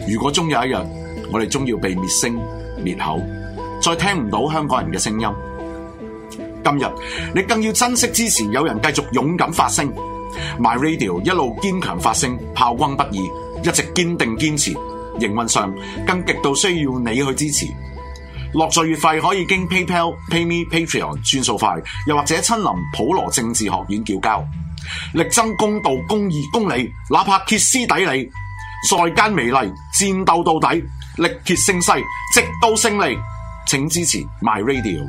如果終有一日，我哋終要被滅聲滅口，再聽唔到香港人嘅聲音，今日你更要珍惜支持有人繼續勇敢發聲 My Radio 一路堅強發聲，炮轟不已，一直堅定堅持。營運上更極度需要你去支持。落座月費可以經 PayPal、PayMe、Patreon 轉數快，又或者親臨普羅政治學院叫交，力爭公道、公義、公理，哪怕歇斯底里，在間美麗，戰鬥到底，力竭勝勢，直到勝利。請支持 My Radio。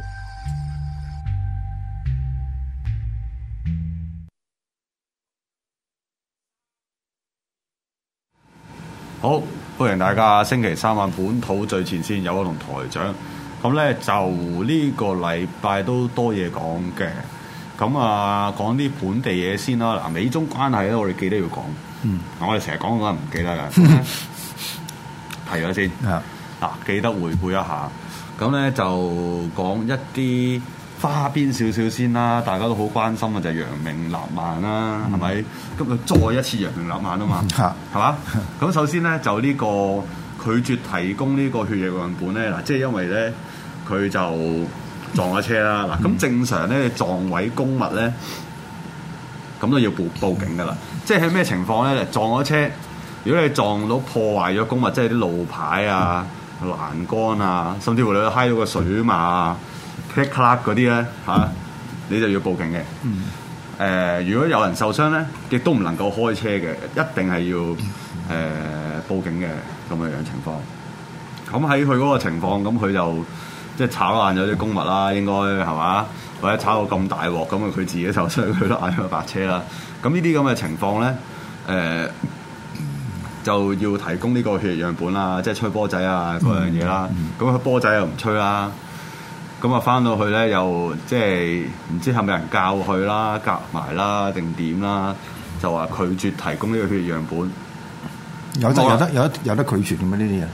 好，歡迎大家星期三晚本土最前線，有我同台長。咁咧就呢個禮拜都多嘢講嘅。咁啊，講啲本地嘢先啦。嗱，美中關係咧，我哋記得要講。我哋成日講嗰陣唔記得㗎。提咗先。記得回顧一下。咁咧就講一啲花邊少少先啦，大家都好關心嘅就係揚名立萬啦，係咪？咁佢再一次揚名立萬啊嘛，係嘛？咁首先咧就呢個拒絕提供呢個血液樣本咧，嗱，即係因為咧佢就撞咗車啦。嗱，咁正常咧撞毀公物咧，咁都要報警噶啦。即係喺咩情況咧？撞咗車，如果你撞到破壞咗公物，即係啲路牌啊、欄杆啊，甚至乎你揩到個水馬啊、click clack 嗰啲咧嚇，你就要報警嘅。如果有人受傷咧，亦都唔能夠開車嘅，一定係要報警嘅咁嘅樣情況。咁喺佢嗰個情況，咁佢就即係炒爛咗啲公物啦，應該係嘛？或者炒到咁大鑊，咁佢自己受傷，佢都嗌咗白車啦。咁呢啲咁嘅情況咧，就要提供呢個血液樣本啦，即係吹波仔啊嗰樣嘢啦。咁佢波仔又唔吹啦，咁啊翻到去咧又即係唔知係咪人教佢啦、夾埋啦定點啦，就話拒絕提供呢個血液樣本。有得拒絕嘅咩呢啲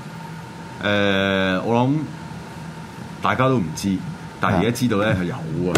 嘢？我諗大家都唔知。但係而家知道咧係有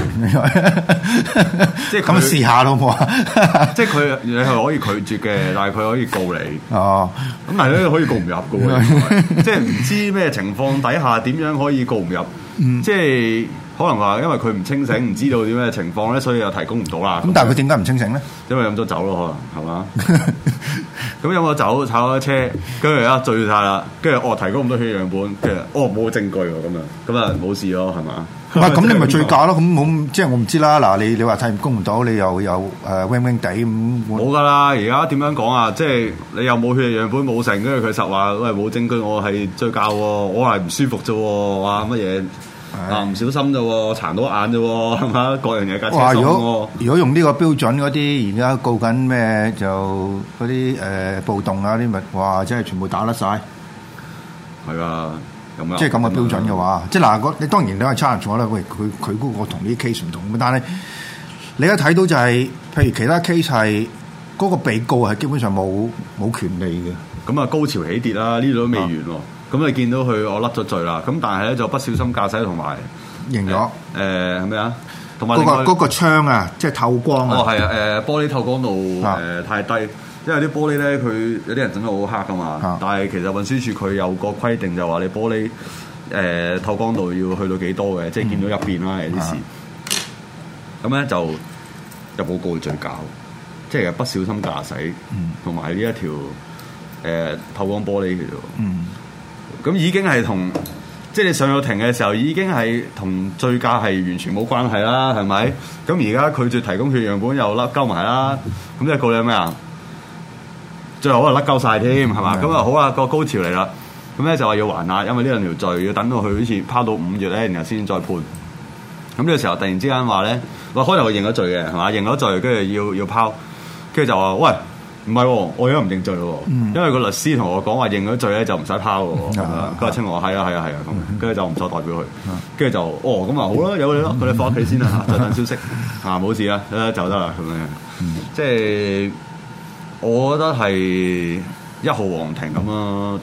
啊，即係咁試下咯，好唔好啊？即係佢你係可以拒絕嘅，但係佢可以告你。哦，咁但係咧可以告唔入嘅喎，即係唔知咩情況底下點樣可以告唔入？即係可能話因為佢唔清醒，唔知道點咩情況咧，所以又提供唔到啦。咁但係佢點解唔清醒咧？因為飲咗酒咯，可能係嘛？咁飲咗酒炒咗車，跟住而家醉晒啦，跟住提供咁多血樣本，跟住冇證據喎，咁啊冇事咯，係嘛？咁你咪醉駕咯？咁冇即係我唔知啦。嗱，你話提供唔到，你又有wing wing 地咁冇噶啦。而家點樣講啊？即係你又冇血樣本冇成，跟住佢實話喂冇證據，我係醉駕喎，我係唔舒服啫喎，哇乜嘢啊唔小心啫喎，殘到眼啫喎，係嘛？各樣嘢架車撞喎。如果用呢個標準嗰啲，而家告緊咩就嗰啲暴動啊啲咪哇，真係全部打甩晒。係啊。即係咁嘅標準嘅話，即係嗱，你當然都係 challenge 咗啦。喂，佢嗰個同啲 case 唔同，但係你一睇到就係、是，譬如其他 case 係嗰個被告係基本上冇權利嘅。咁啊，高潮起跌啦，呢度都未完喎。咁你見到佢我甩咗罪啦，咁但係咧就不小心駕駛同埋贏咗。係咩啊？同埋嗰個窗啊，即係透光啊。哦，係啊，玻璃透光度太低。因為啲玻璃咧，佢有啲人整到好黑噶嘛，但係其實運輸署佢有個規定就話你玻璃透光度要去到幾多嘅，即係見到入邊啦有啲事。咁咧就入報告罪教，即係不小心駕駛，同埋呢一條透光玻璃嘅啫。咁已經係同即係你上咗庭嘅時候，已經係同醉駕係完全冇關係啦，係咪？咁而家拒絕提供血樣本又甩鳩埋啦，咁即係告你咩啊？最後可能甩鳩晒添，係嘛？咁啊好啦，個高潮嚟啦，咁咧就話要還押，因為呢兩條罪要等到佢好似拋到5月咧，然後先再判。咁呢個時候突然之間話咧，話開頭佢認咗罪嘅，係嘛？認咗罪，跟住要拋，跟住就話喂，唔係喎，我而家唔認罪喎，因為個律師同我講話認咗罪咧就唔使拋喎。佢話清我係啊咁，跟住就唔再代表佢，跟住就咁啊好啦，有你咯，佢哋翻屋企先啦，再等消息冇事啦，就得啦咁樣，即係。我覺得係一號皇庭咁咯，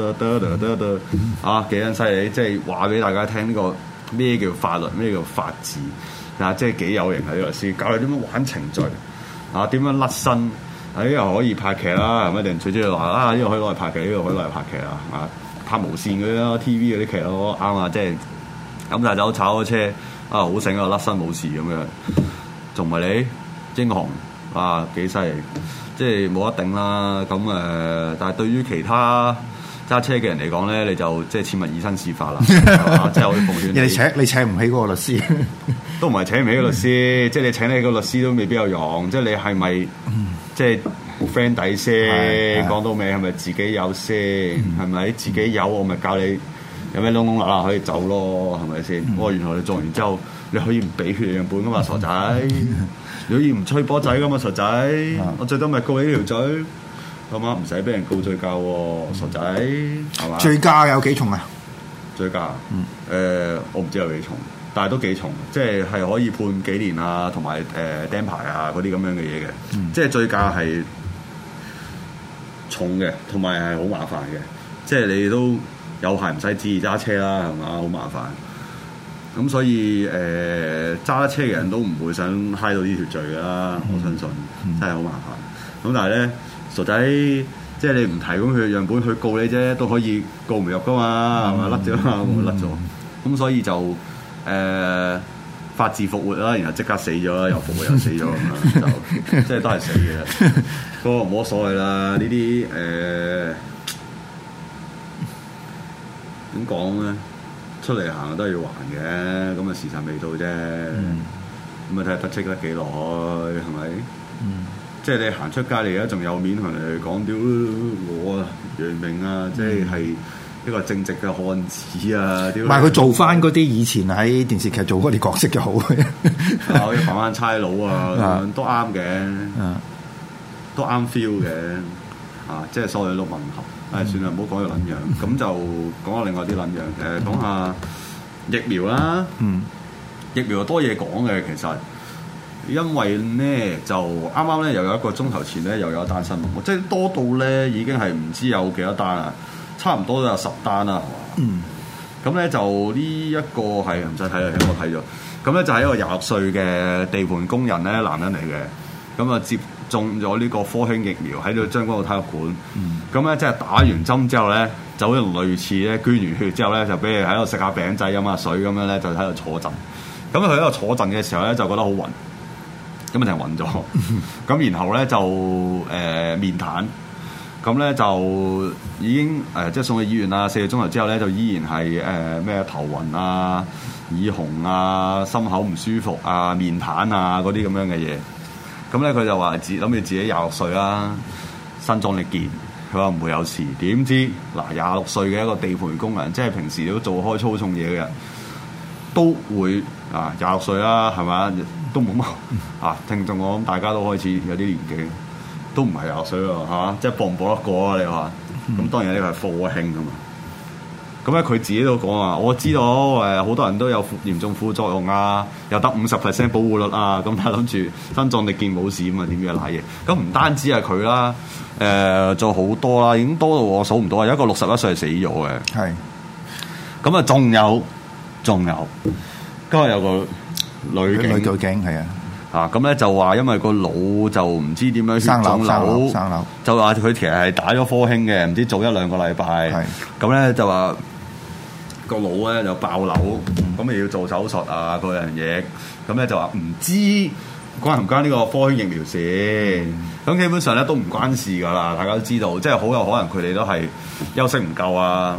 幾撚犀利！即係話俾大家聽呢個咩叫法律，咩叫法治啊！即係幾有型啊！呢個律師教你點樣玩程序啊，點樣甩身， 又可以拍劇啦，係咪？定最主要話啊，呢個可以攞嚟拍劇，呢個可以攞嚟拍劇啊，啊拍無線嗰啲咯 ，TV 嗰啲劇咯，啱啊！即係飲大酒炒咗車啊，好醒啊，甩身冇事咁樣，仲唔係你英雄啊？幾犀利！即係冇得頂啦。咁但係對於其他揸車嘅人嚟講咧，你就即係切勿以身試法啦，即係我奉勸你請唔起嗰個律師， 都唔係請唔起個律師，即係你請你個律師都未必有用。即係你係咪即係 friend 底先？講到尾係咪自己有先？係咪自己有我咪教你有咩窿窿罅罅可以走咯？係咪先？原來你做完之後你可以唔俾血樣本噶嘛，傻仔！你可以唔吹波仔噶嘛，傻仔！我最多咪告你條嘴。咁啊，唔使俾人告醉駕喎，傻仔，係嘛？ 醉駕有幾重啊？ 醉駕，我唔知有幾重，但係都幾重，即係可以判幾年啊，同埋釘牌啊嗰啲咁樣嘅嘢嘅，即係醉駕係重嘅，同埋係好麻煩嘅，即係你都有排唔使旨意揸車啦，係嘛？好麻煩。咁所以揸車嘅人都唔會想揩到呢條罪㗎啦，我相信真係好麻煩。咁但係咧。傻仔，即係你唔提供佢嘅樣本去告你啫，都可以告唔入噶嘛，係咪甩咗嘛？甩咗，咁所以就法治復活啦，然後即刻死咗啦，又復活又死咗咁樣，就即係都係死嘅。不過冇乜所謂啦，呢啲點講咧？出嚟行都係要還嘅，咁啊時辰未到啫，咁啊睇下得戚得幾耐，係咪？即係你行出街，你而家仲有面同人哋講屌我啊楊明啊，即係一個正直嘅漢子啊！屌，唔係佢做翻嗰啲以前喺電視劇做嗰啲角色就好嘅， 可以扮翻差佬啊，都啱嘅，都啱 feel 嘅，即係所有都吻合。算啦，唔好講個撚樣，咁就講下另外啲撚樣。講下疫苗啦，疫苗多嘢講嘅其實。因為咧就啱啱咧又有一個鐘頭前咧又有一單新聞，即係多到咧已經係唔知有幾多單啦，差唔多都有10單啦，係嘛？咁咧就呢一個係唔使睇啦，我睇咗。咁咧就係一個26歲嘅地盤工人咧，男人嚟嘅，咁啊接種咗呢個科興疫苗喺度將軍澳體育館。咁咧即係打完針之後咧，就好似類似咧捐完血之後咧，就俾你喺度食下餅仔飲下水咁樣咧，就喺度坐陣。咁佢喺度坐陣嘅時候咧，就覺得好暈。咁就暈咗，咁然後咧就面癱，咁咧就已經即係送去醫院啦。4個鐘頭之後咧，就依然係咩頭暈啊、耳紅啊、心口唔舒服啊、面癱啊嗰啲咁樣嘅嘢。咁咧佢就話諗住自己26歲啦，身壯力健，佢話唔會有事。點知嗱26歲嘅一個地盤工人，即係平時都做開粗重嘢嘅人，都會26歲啦，係咪？都冇乜聽眾我諗大家都開始有啲年紀，都唔係26歲喎嚇，即係搏唔搏得過啊？你話咁當然呢個係科興噶嘛。咁咧佢自己都講話，我知道好多人都有嚴重副作用啊，又得50% 保護率啊，咁但係諗住身壯力健冇事咁啊，點樣賴嘢？咁唔單止係佢啦，仲好多啦，已經多到我數唔到啊！有一個61歲係死咗嘅，係咁啊，仲有今日有個女警係咁咧就話因為個腦就唔知點樣血腫瘤，就話佢其實係打咗科興嘅，唔知早1-2個禮拜，咁咧就話個腦咧就爆瘤，咁咪要做手術啊嗰樣嘢，咁咧就話唔知關唔關呢個科興疫苗事，咁基本上咧都唔關事噶啦，大家都知道，即係好有可能佢哋都係休息唔夠啊。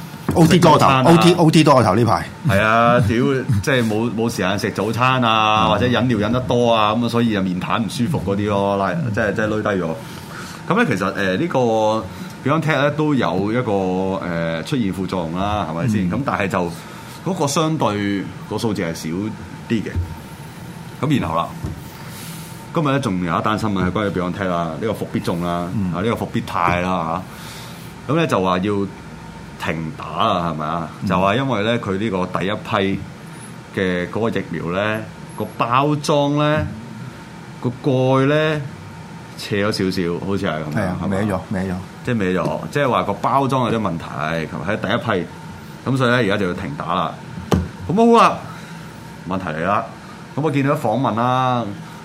OT 多頭 ，OT 多個頭呢排。 係啊，屌，即係冇時間食早餐啊，或者飲料飲得多啊，咁啊，所以就面癱唔舒服嗰啲咯，即係攣低咗。咁咧，其實呢個 BioNTech 咧都有一個出現副作用啦，係咪先？咁但係就嗰個相對個數字係少啲嘅。咁然後啦，今日咧仲有一單新聞係關於 BioNTech 啦，呢個復必眾啦，呢個復必泰啦嚇。咁咧就話要停打啊，係咪啊？就話因為咧，佢呢個第一批嘅嗰個疫苗咧，個包裝咧，個蓋咧斜咗少少，好似係咁。係啊，歪咗，即係歪咗，即係話個包裝有啲問題，喺第一批，咁所以咧而家就要停打啦。咁好啦，問題嚟啦。咁我見到訪問啦，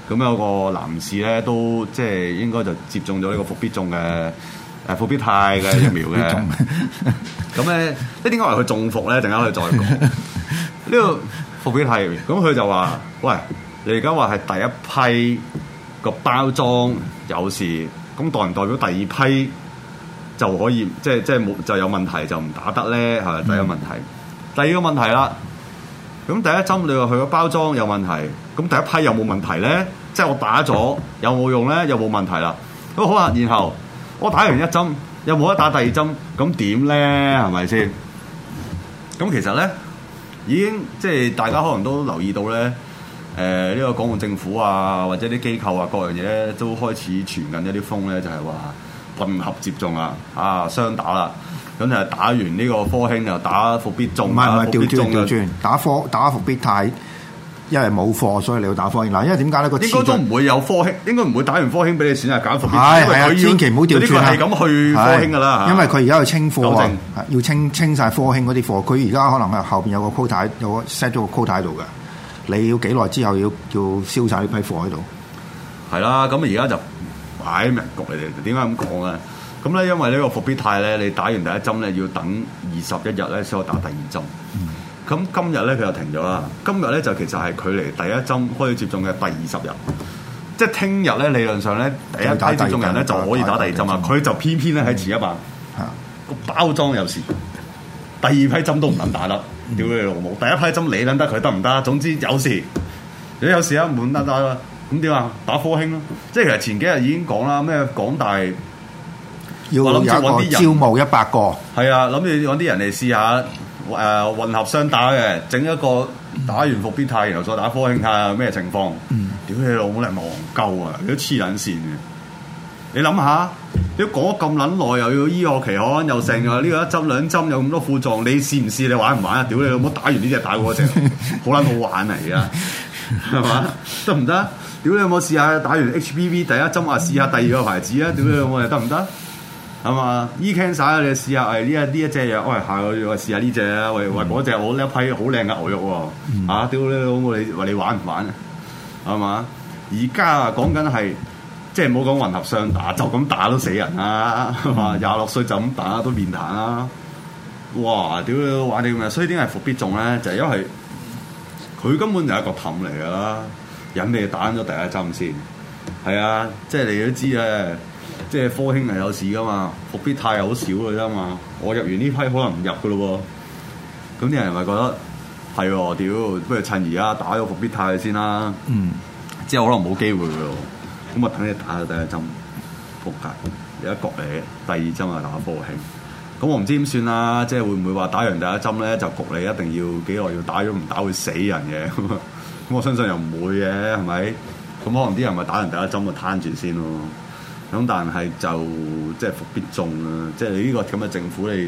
咁有個男士咧都即係應該就接種咗呢個復必中嘅復必泰嘅疫苗嘅。咁咧，點解話佢中伏咧？陣間佢再講呢個復必泰疫苗。咁佢就話：喂，你而家話係第一批個包裝有事，咁代唔代表第二批就可以即係冇就有問題就唔打得咧？係咪第一個問題？第二個問題啦。咁第一針你話佢個包裝有問題，咁第一批有冇問題咧？即係我打咗有冇用咧？有冇問題啦？咁好啦，然後我打完一針，有冇得打第二針？咁點咧？係咪先？咁其實咧已經即係大家可能都留意到咧，呢個港澳政府啊，或者啲機構啊，各樣嘢咧都開始傳緊一啲風咧，就係話混合接種啊，雙打啦。咁就打完呢個科興又打復必中， 唔係調轉打復必泰，因為冇貨，所以你要打科興。嗱，因為點解咧？ 應該都唔會有科興，應該唔會打完科興俾你選擇揀復必泰。因為佢千祈唔好調轉係咁去科興噶啦。 因為佢而家要清貨啊，要清晒科興嗰啲貨。佢而家可能係後邊有個 quota， 有個 set 咗個 quota 喺度嘅。你要幾耐之後要燒晒呢批貨喺度？ 係啦，咁而家就擺明局嚟嘅。點解咁講咧？咁咧，因為呢個復必泰咧，你打完第一針咧，要等21日咧先可以打第二針。咁今日咧佢又停咗啦。今日咧就其實係距離第一針開始接種嘅第20日，即係聽日咧理論上咧第一批接種人咧就可以打第二針啦。佢就偏偏咧喺遲一晚，個包裝有事，第二批針都唔能打得。屌你老母！第一批針你撚得佢得唔得？總之有事，如果有事啊唔得啦。咁點啊？打科興咯。即係其實前幾日已經講啦，咩港大。 要有一個招募100個， 係啊，諗住揾啲人嚟試下混合雙打嘅，整一個打完復必泰，然後再打科興，睇下咩情況。屌你老母，你係咪戇鳩啊？你都黐撚線嘅。你諗下，你講咗咁撚耐，又要醫學期刊，又成啊呢個一針兩針有咁多副作用，你試唔試？你玩唔玩啊？屌你老母，打完呢隻打嗰隻，好撚好玩啊！而家係嘛？得唔得？屌你有冇試下打完 HPV 第一針啊？試下第二個牌子啊？屌你老母，得唔得？係嘛？E-cancer 你試下，呢一隻嘢，喂下個月試下呢隻啊，喂嗰隻我呢一批好靚嘅牛肉喎，屌你老母你話你玩唔玩啊？係嘛？而家啊講緊係即係唔好講混合雙打，就咁打都死人啦，係嘛？26歲就咁打都面癱啦，哇！屌你玩啲咁嘅，所以點解復必中咧？就係因為佢根本就係一個氹嚟㗎啦，引你打咗第一針先，係啊，即係你都知咧。即係科興係有事噶嘛，復必泰係好少嘅啫嘛。我入完呢批可能唔入嘅咯喎，咁啲人咪覺得係喎，屌，不如趁而家打咗復必泰先啦。之後可能冇機會嘅咯，咁啊等你打咗第一針，撲街，有一局嚟，第二針啊打科興。咁我唔知點算啦，即係會唔會話打完第一針咧就焗你一定要幾耐要打，如果唔打會死人嘅。咁我相信又唔會嘅，係咪？咁可能啲人咪打完第一針就攤住先咯。咁但係就即係復必中啦，即係你呢個咁嘅政府你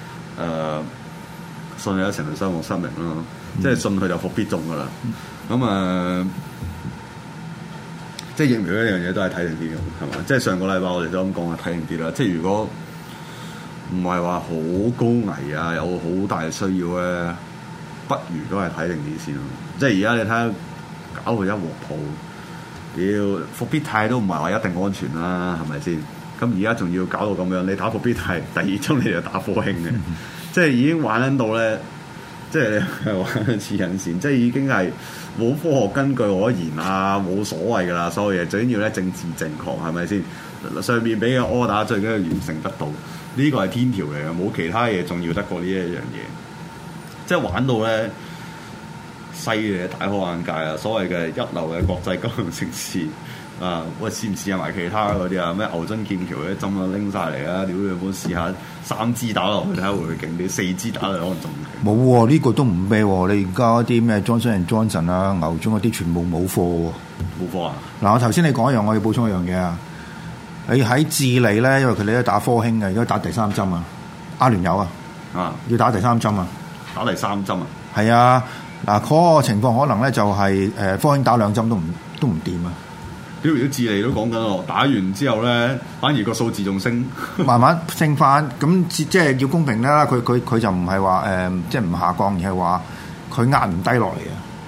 信你一成就傷亡失明咯，即係信佢就復必中噶啦。咁即係疫苗呢樣嘢都係睇定啲嘅，係嘛？即係上個禮拜我哋都咁講啊，睇定啲啦。即係如果唔係話好高危啊，有好大嘅需要咧，不如都係睇定啲先咯。即係而家你睇下搞到一鑊泡。屌復必泰都唔係話一定安全啦，係咪先？咁而家仲要搞到咁樣，你打復必泰第二針你就打科興嘅，即係已經玩緊到咧，即係玩黐緊線，即係已經係冇科學根據可言啊，冇所謂噶啦，所有嘢最緊要咧政治正確，係咪先？上面俾嘅 order 最緊要完成得到，呢個係天條嚟嘅，冇其他嘢重要得過呢一樣嘢，即係玩到咧。犀利大開眼界啊！所謂嘅一流嘅國際金融城市啊，喂試唔試下埋其他嗰啲啊？咩牛津劍橋嗰啲針啊拎晒嚟啊！屌你有冇試下3支打落去睇下會唔會勁啲？4支打落去可能仲勁。冇喎，呢個都唔咩喎？你而家啲咩 Johnson & Johnson 啊、牛津嗰啲全部冇貨喎。 冇貨啊！ 嗱，我頭先你講一樣，我要補充一樣嘢啊！你喺智利咧，因為佢哋都打科興嘅，而家打第3針啊，阿聯酋要打第3針啊， 打第3針啊， 係啊。嗱，嗰個情況可能咧就係科興打2針都唔掂啊！ 屌，如果智利都講緊喎，打完之後咧，反而個數字仲升， 慢慢升翻。咁即係要公平啦，佢就唔係話即係唔下降，而係話佢壓唔低落嚟啊！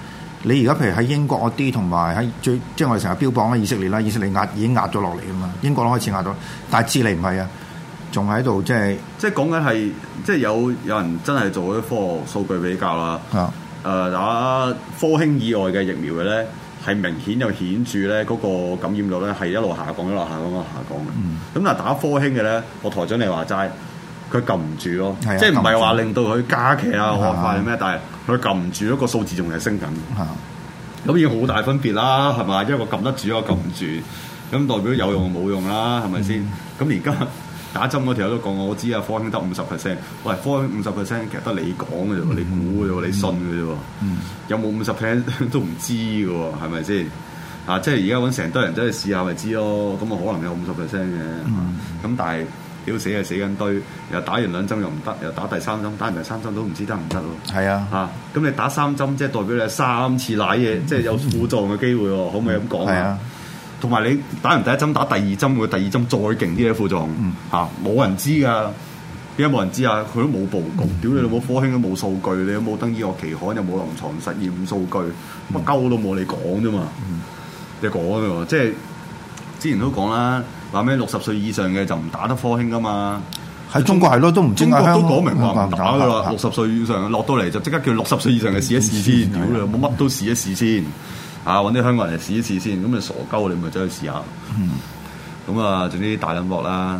你而家譬如喺英國嗰啲，同埋喺即係我哋成日標榜咧以色列啦，以色列已經壓咗落嚟啊嘛，英國都開始壓咗，但係智利唔係啊，仲喺度即係講緊係即係有人真係做咗科學數據比較啦。打科興以外嘅疫苗嘅咧，係明顯又顯著咧嗰個感染率咧係一路下降嘅。咁但係打科興嘅咧，我台長你話齋，佢撳唔住咯，即係唔係話令到佢加劇啊惡化定咩？但係佢撳唔住，一個數字仲係升緊。咁已經好大分別啦，係咪？一個撳得住，一個撳唔住，咁代表有用冇用啦，係咪先？咁而家打針嗰條友都講我知啊，科興得50%。喂，科興50%其實得你講嘅啫喎，你估嘅啫喎，你信嘅啫喎。有冇50%都唔知嘅喎，係咪先？即係而家揾成堆人走去試下咪知咯。咁啊可能有50%嘅。咁但係屌死係死緊堆，又打完2針又唔得，又打第3針，打完第3針都唔知得唔得喎。係啊。咁你打3針，即係代表你係3次瀨嘢，即係有副作用嘅機會喎。可唔可以咁講啊？同埋你打完第1針，打第2針，會第2針再勁啲嘅副作用冇人知㗎。點解冇人知啊？佢都冇報告。屌你老母，科興都冇數據，你有冇登醫學期刊，又冇臨床實驗數據，乜鳩都冇你講啫嘛。你講啫喎，即係之前都講啦，話咩60歲以上嘅就唔打得科興㗎嘛。喺中國係咯，都唔知中國都講明話唔打㗎啦。60歲以上落到嚟就即刻叫60歲以上嘅試一試先。屌你冇乜都試一試先。揾啲香港人嚟試一試先，咁你傻鳩你咪走去試下。咁啊，總之大撚鑊啦。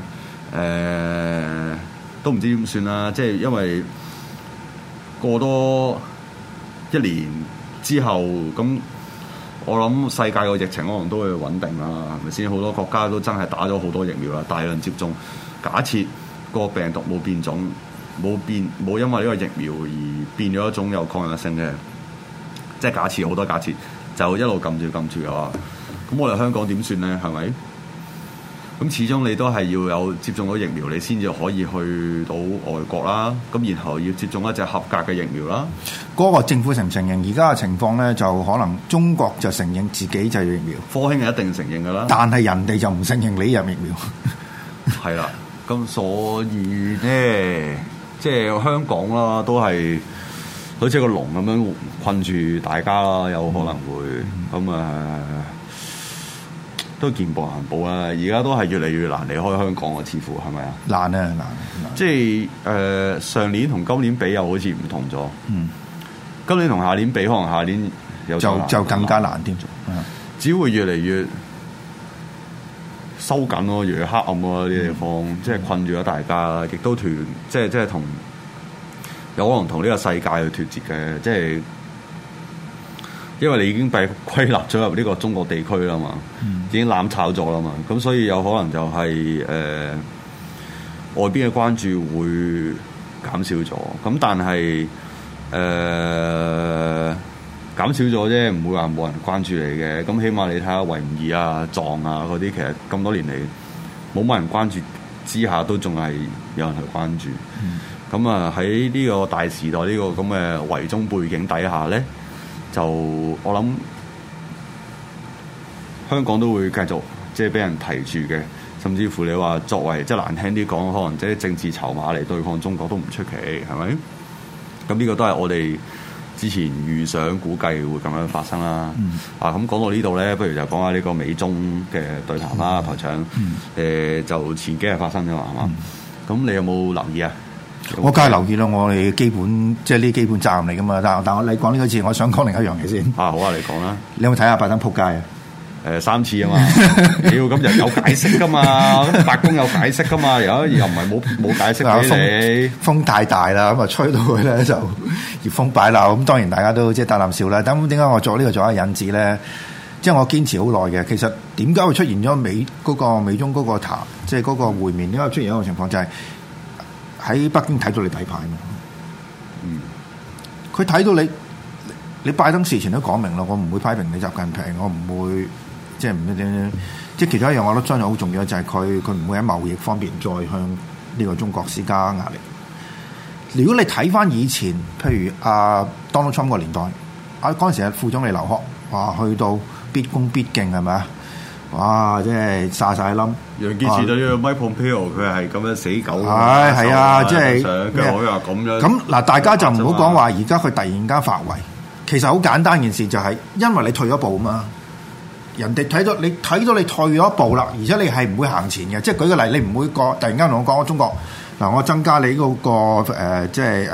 都唔知點算啦。即係因為過多1年之後，咁我諗世界個疫情可能都會穩定啦，係咪先？好多國家都真係打咗好多疫苗啦，大量接種。假設個病毒冇變種，冇因為呢個疫苗而變咗一種有抗藥性嘅，即係假設好多假設。就一路撳住嘅話，咁我哋香港點算咧？係咪？咁始終你都係要有接種咗疫苗，你先至可以去到外國啦。咁然後要接種一隻合格嘅疫苗啦。 嗰個政府承唔承認？而家嘅情況咧，就可能中國就承認自己就係疫苗， 科興係一定承認㗎啦。 但係人哋就唔承認你入疫苗。 係啦，咁所以咧，即係香港啦，都係。好似個籠咁樣困住大家啦，有可能會咁都見步行步啦。而家都係越嚟越難離開香港啊，似乎係咪啊？難。即係上年同今年比又好似唔同咗。今年同下年比，可能下年就更加難添。 只會越嚟越收緊咯，越嚟越黑暗咯啲地方，即係困住咗大家，亦都即係同。有可能同呢個世界去脫節嘅，即係因為你已經被歸納咗入呢個中國地區啦嘛，已經攬炒咗啦嘛，咁所以有可能就係外邊嘅關注會減少咗，咁但係減少咗啫，唔會話冇人關注你嘅，咁起碼你睇下維吾爾啊、藏啊嗰啲，其實咁多年嚟冇乜人關注之下，都仲係有人去關注。咁啊喺呢個大時代呢個咁嘅圍中背景底下咧，就我諗香港都會繼續即係俾人提住嘅，甚至乎你話作為即係難聽啲講，可能即係政治籌碼嚟對抗中國都唔出奇，係咪？咁呢個都係我哋之前預想估計會咁樣發生啦。咁講到呢度咧，不如就講下呢個美中嘅對談啦，台長。就前幾日發生咗嘛，係嘛？咁你有冇留意啊？ 我梗係留意啦，我哋基本即係呢基本責任嚟噶嘛。但我你講呢個字，我想講另一樣嘢先。 好啊，你講啦。你有冇睇下拜登撲街啊 ？3次啊嘛。屌，咁又有解釋噶嘛？咁白宮有解釋噶嘛？又唔係冇解釋俾你。風太大啦，咁啊吹到佢咧就熱風擺鬧。咁當然大家都即係打啖笑啦。咁點解我做呢個做一個引子咧？即係我堅持好耐嘅。其實點解會出現咗美中嗰個談，即係嗰個會面？點解會出現一個情況就係？喺北京睇到你底牌嘛？佢睇到你拜登事前都講明啦，我唔會批評你習近平，我唔會即係唔點即係其中一樣，我覺得真係好重要就係佢唔會喺貿易方面再向呢個中國施加壓力。如果你睇翻以前，譬如Donald Trump 個年代，嗰陣時係副總理劉鶴，哇，去到必恭必敬係咪啊？哇！即係晒冧。 楊潔篪對呢個 Mike Pompeo 佢係咁樣死狗。 係啊，即係佢可以話咁樣。 咁嗱，大家就唔好講話，而家佢突然間發圍， 其實好簡單件事就係因為你退咗步嘛，人哋睇到你退咗一步啦，而且你係唔會行前嘅。即係舉個例，你唔會突然間同我講中國嗱，我增加你嗰個即係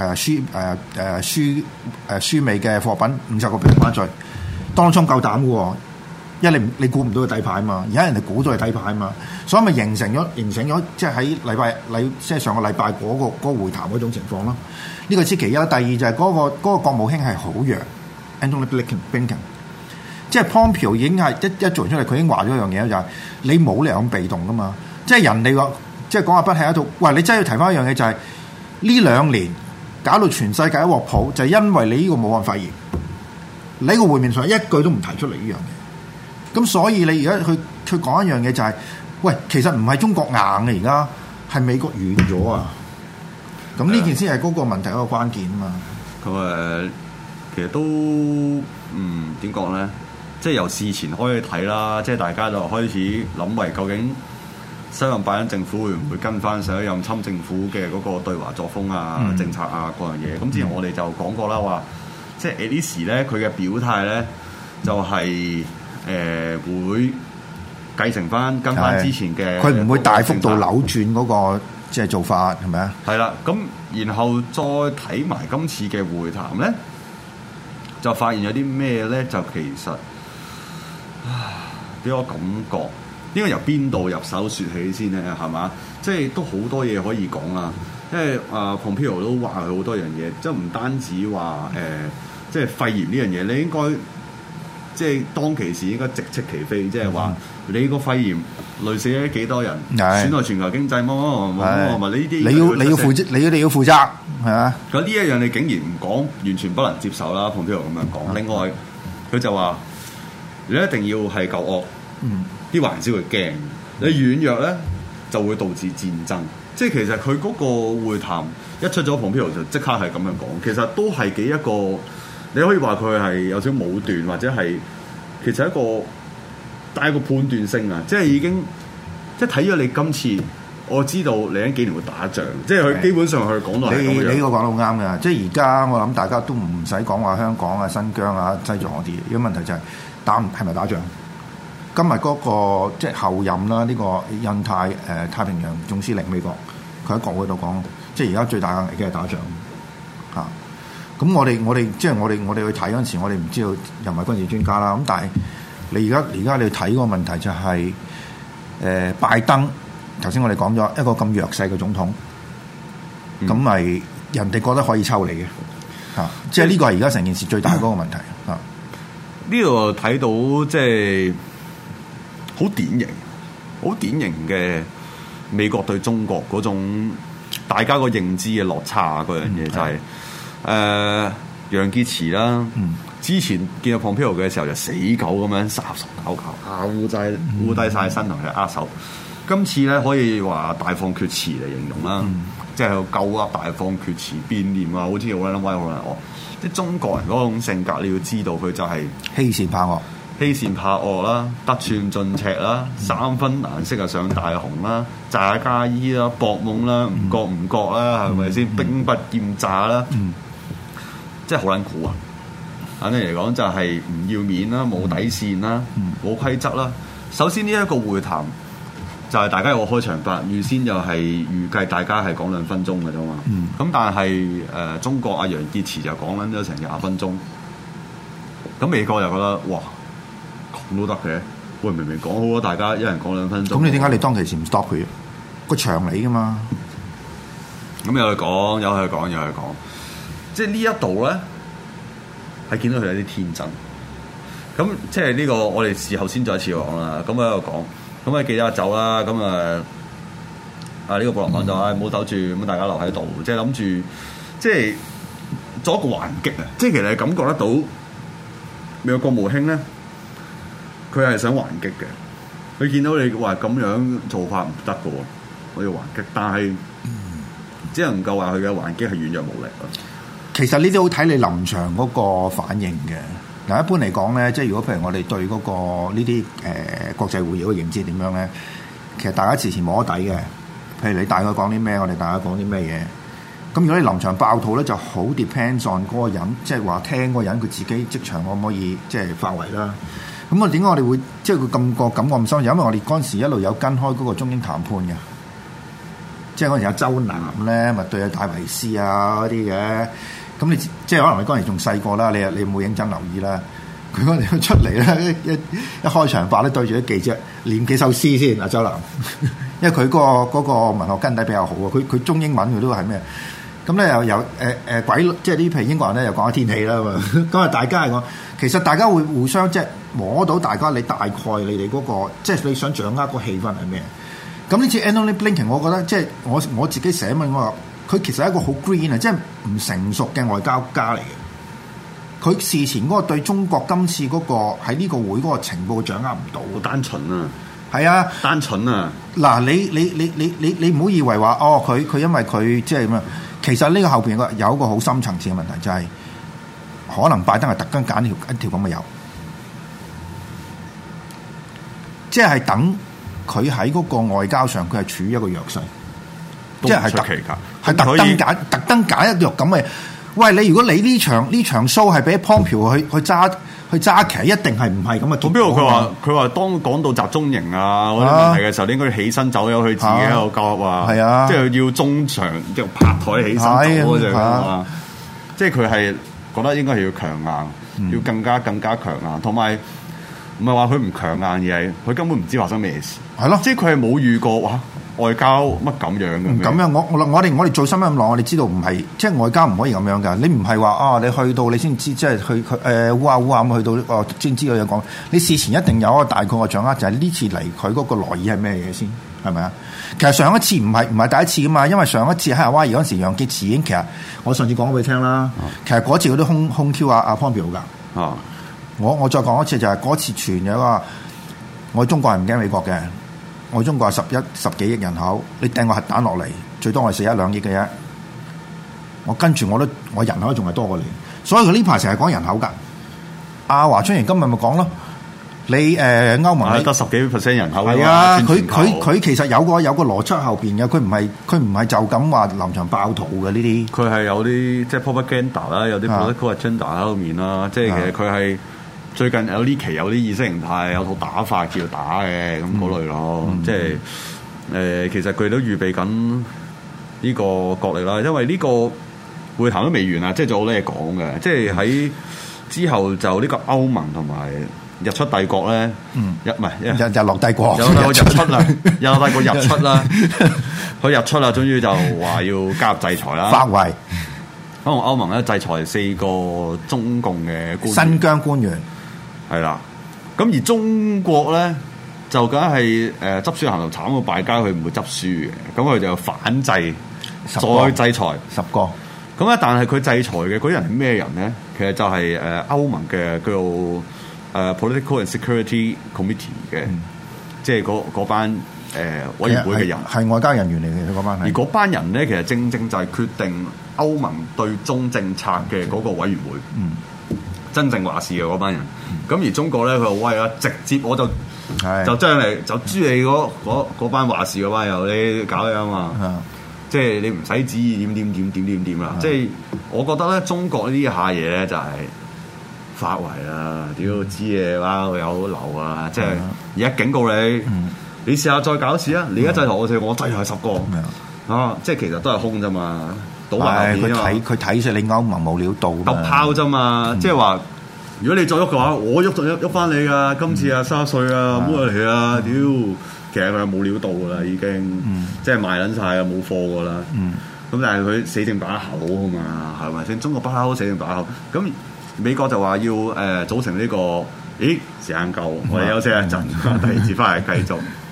輸美嘅貨品50%關稅，當初夠膽嘅喎，因為你估唔到佢底牌嘛，而家人哋估到係底牌嘛，所以咪形成咗即係喺即係上個禮拜嗰個會談嗰種情況咯。呢個先其一，第二就係嗰個國務卿係好弱 ，Antony Blinken， 即係 Pompeo 已經係一做出嚟，佢已經話咗一樣嘢就係你冇理由咁被動噶嘛，即係人哋話即係講話不係喺度，喂，你真係要提翻一樣嘢就係呢2年搞到全世界一鑊泡，就係因為你呢個武漢肺炎，你個會面上一句都唔提出嚟呢樣嘢，咁所以你而家去講一樣嘢就係，喂，其實唔係中國硬嘅，而家係美國軟咗啊！咁呢件先係嗰個問題一個關鍵啊嘛。 咁其實都點講咧？即係由事前開始睇啦，即係大家就開始諗為究竟新任拜登政府會唔會跟翻上一任侵政府嘅嗰個對華作風啊、政策啊嗰樣嘢。咁之前我哋就講過啦，話即係 at least 咧，佢嘅表態咧就係會繼承翻跟翻之前嘅， 佢唔會大幅度扭轉嗰個即係做法係咪啊？係啦，咁然後再睇埋今次嘅會談咧，就發現有啲咩咧？就其實俾我感覺應該由邊度入手説起先咧？係嘛？即係都好多嘢可以講啦。因為Pompeo 都話佢好多樣嘢，即係唔單止話即係肺炎呢樣嘢，你應該即係當其時應該直斥其非，即係話你個肺炎累死咗幾多人，損害全球經濟，乜呢啲你要負責係嘛？ 咁呢一樣你竟然唔講，完全不能接受啦。Pompeo咁樣講，另外佢就話你一定要係夠惡，啲華人先會驚。你軟弱咧就會導致戰爭。即係其實佢嗰個會談一出咗Pompeo就即刻係咁樣講，其實都係幾一個，你可以話佢係有少少武斷，或者係其實一個帶一個判斷性啊！即係已經即係睇咗你今次，我知道你喺幾年會打仗，即係佢基本上佢講到係咁樣。 你呢個講得好啱嘅，即係而家我諗大家都唔使講話香港啊、新疆啊、西藏嗰啲，有問題就係係咪打仗？今日嗰個即係後任啦，呢個印太太平洋總司令美國，佢喺國會度講，即係而家最大嘅危機係打仗嚇。咁我哋即係我哋去睇嗰陣時，我哋唔知道又唔係軍事專家啦。咁但係你而家你睇個問題就係拜登頭先我哋講咗一個咁弱勢嘅總統，咁咪人哋覺得可以抽你嘅嚇，即係呢個係而家成件事最大嗰個問題嚇。 呢度睇到即係好典型嘅美國對中國嗰種大家個認知嘅落差嗰樣嘢，就係楊潔篪啦。之前見到 Pompeo 嘅時候就死狗咁樣殺熟咬咬烏低晒身同佢握手。今次咧可以話大放厥詞嚟形容啦，即係夠啊大放厥詞變臉啊，好似好撚威好撚惡。即係中國人嗰種性格，你要知道佢就係欺善怕惡啦，得寸進尺啦，三分顏色啊上大紅啦，詐假意啦，博懵啦，唔覺啦，係咪先？兵不厭詐啦，即係好撚苦啊！簡單嚟講就係唔要面啦，冇底線啦，冇規則啦。首先呢一個會談就係大家有個開場白，預先就係預計大家係講2分鐘嘅啫嘛。咁但係中國阿楊潔篪就講緊咗成20分鐘。咁美國就覺得哇咁都得嘅，喂明明講好咗，大家一人講2分鐘。 咁你點解你當其時唔 stop 佢？個場嚟噶嘛？ 咁有去講，即係呢一度咧係見到佢有啲天真。咁即係呢個我哋事後先再一次講啦。咁喺度講。咁啊記者走啦，咁呢個布林肯就唔好走住，咁大家留喺度，即係諗住即係做一個還擊啊！即係其實係感覺得到美國國務卿咧，佢係想還擊嘅。佢見到你話咁樣做法唔得嘅喎，我要還擊，但係只能夠話佢嘅還擊係軟弱無力咯。 其實呢啲好睇你臨場嗰個反應嘅。嗱，一般嚟講咧，即係如果譬如我哋對嗰個呢啲國際會議嘅認知點樣咧，其實大家事前摸底嘅。譬如你大概講啲咩，我哋大家講啲咩嘢。 咁如果你臨場爆肚咧，就好 depends on 嗰個人，即係話聽嗰個人佢自己即場可唔可以即係發圍啦。咁點解我哋會即係佢咁個感覺咁深？因為我哋嗰陣時一路有跟開嗰個中英談判嘅，即係嗰陣時有周南咧，咪對阿戴維斯啊嗰啲嘅。咁你即係可能你嗰陣時仲細個啦，你冇認真留意啦。佢嗰陣時出嚟咧，一開場白咧對住啲記者唸幾首詩先。阿周南，因為佢嗰個文學根底比較好啊。佢中英文佢都係咩？咁咧又有鬼，即係啲譬如英國人咧又講下天氣啦嘛。咁啊，大家係講，其實大家會互相即係摸到大家你大概你哋嗰個，即係你想掌握個氣氛係咩？咁呢次 Antony Blinken， 我覺得即係我自己寫文我話，佢其實係一個好 green 啊，即係唔成熟嘅外交家嚟嘅。佢事前嗰個對中國今次嗰個喺呢個會嗰個情報掌握唔到， 好單純啊！ 係啊， 單純啊！ 嗱，你唔好以為話哦，佢因為佢即係咁樣。其實呢個後邊有一個好深層次嘅問題，就係可能拜登係特登揀一條咁嘅油，即係等佢喺嗰個外交上佢係處於一個弱勢，即係特登揀一條咁嘅。喂，你如果你呢場 show 係俾 Pompeo 去揸旗，一定係唔係咁嘅結果。 邊個佢話當講到集中營啊嗰啲問題嘅時候，你應該起身走咗去自己喺度交啊，係啊，即係要中場即係拍台起身走嗰隻啊，即係佢係覺得應該係要強硬，要更加強硬，同埋唔係話佢唔強硬，而係佢根本唔知發生咩事，係咯，即係佢係冇遇過哇。外交乜咁樣嘅？ 咁樣我哋做新聞咁耐，我哋知道唔係即係外交唔可以咁樣㗎。你唔係話啊，你去到你先知，即係去烏下咁去到哦，先知道有講。你事前一定有一個大概嘅掌握，就係呢次嚟佢嗰個來意係咩嘢先，係咪啊？其實上一次唔係第一次㗎嘛，因為上一次喺夏威夷嗰陣時，楊潔篪已經其實我上次講俾你聽啦。其實嗰次佢都空 Q 阿 Pompeo 㗎。啊，我再講一次就係嗰次傳有個我中國人唔驚美國嘅。我中國係十幾億人口，你掟個核彈落嚟，最多我係死1-2億嘅啫。我跟住我人口仲係多過你，所以佢呢排成日講人口㗎。阿華春瑩今日咪講咯，你歐盟得10幾% 人口係啊，佢其實有個邏輯後邊嘅，佢唔係就咁話臨場爆肚嘅呢啲。 佢係有啲即係 propaganda 啦，有啲 political agenda 喺度面啦，即係其實佢係。最近有呢期有啲意識形態有套打法叫打嘅咁嗰類咯，即係其實佢都預備緊呢個角力啦，因為呢個會談都未完啊，即係仲有好多嘢講嘅，即係喺之後就呢個歐盟同埋日出帝國咧，日落帝國有日出啦，日落帝國日出啦，佢日出啦，終於就話要加入制裁啦， 發圍。 可能歐盟咧制裁4個中共嘅官員， 新疆官員。 係啦，咁而中國咧就梗係執輸行頭慘過敗家，佢唔會執輸嘅，咁佢就反制，再制裁10個。咁咧，但係佢制裁嘅嗰啲人係咩人咧？其實就係歐盟嘅叫做Political and Security Committee 嘅，即係嗰班委員會嘅人， 係外交人員嚟嘅嗰班。 而嗰班人咧，其實正就係決定歐盟對中政策嘅嗰個委員會。真正話事嘅嗰班人，咁而中國咧，佢話喂啊，直接我就將你就誅你嗰班話事嗰班友，你搞嘢啊嘛，即係你唔使旨意點啦。即係我覺得咧，中國呢下嘢咧就係發圍啊，屌知嘢啦，有流啊，即係而家警告你，你試下再搞事啊！你而家制裁我哋，我制裁10個啊，即係其實都係空啫嘛。 佢睇死你歐盟冇料到， 揼炮啫嘛！即係話，如果你再喐嘅話，我喐翻你噶。今次啊，30歲啊，唔好嚟啊！屌，其實佢係冇料到噶啦，已經，即係賣撚晒啊，冇貨噶啦。咁但係佢死剩把口啊嘛，係咪先？中國不嬲死剩把口。咁美國就話要組成呢個，時間夠，我哋休息一陣，第二次翻嚟繼續。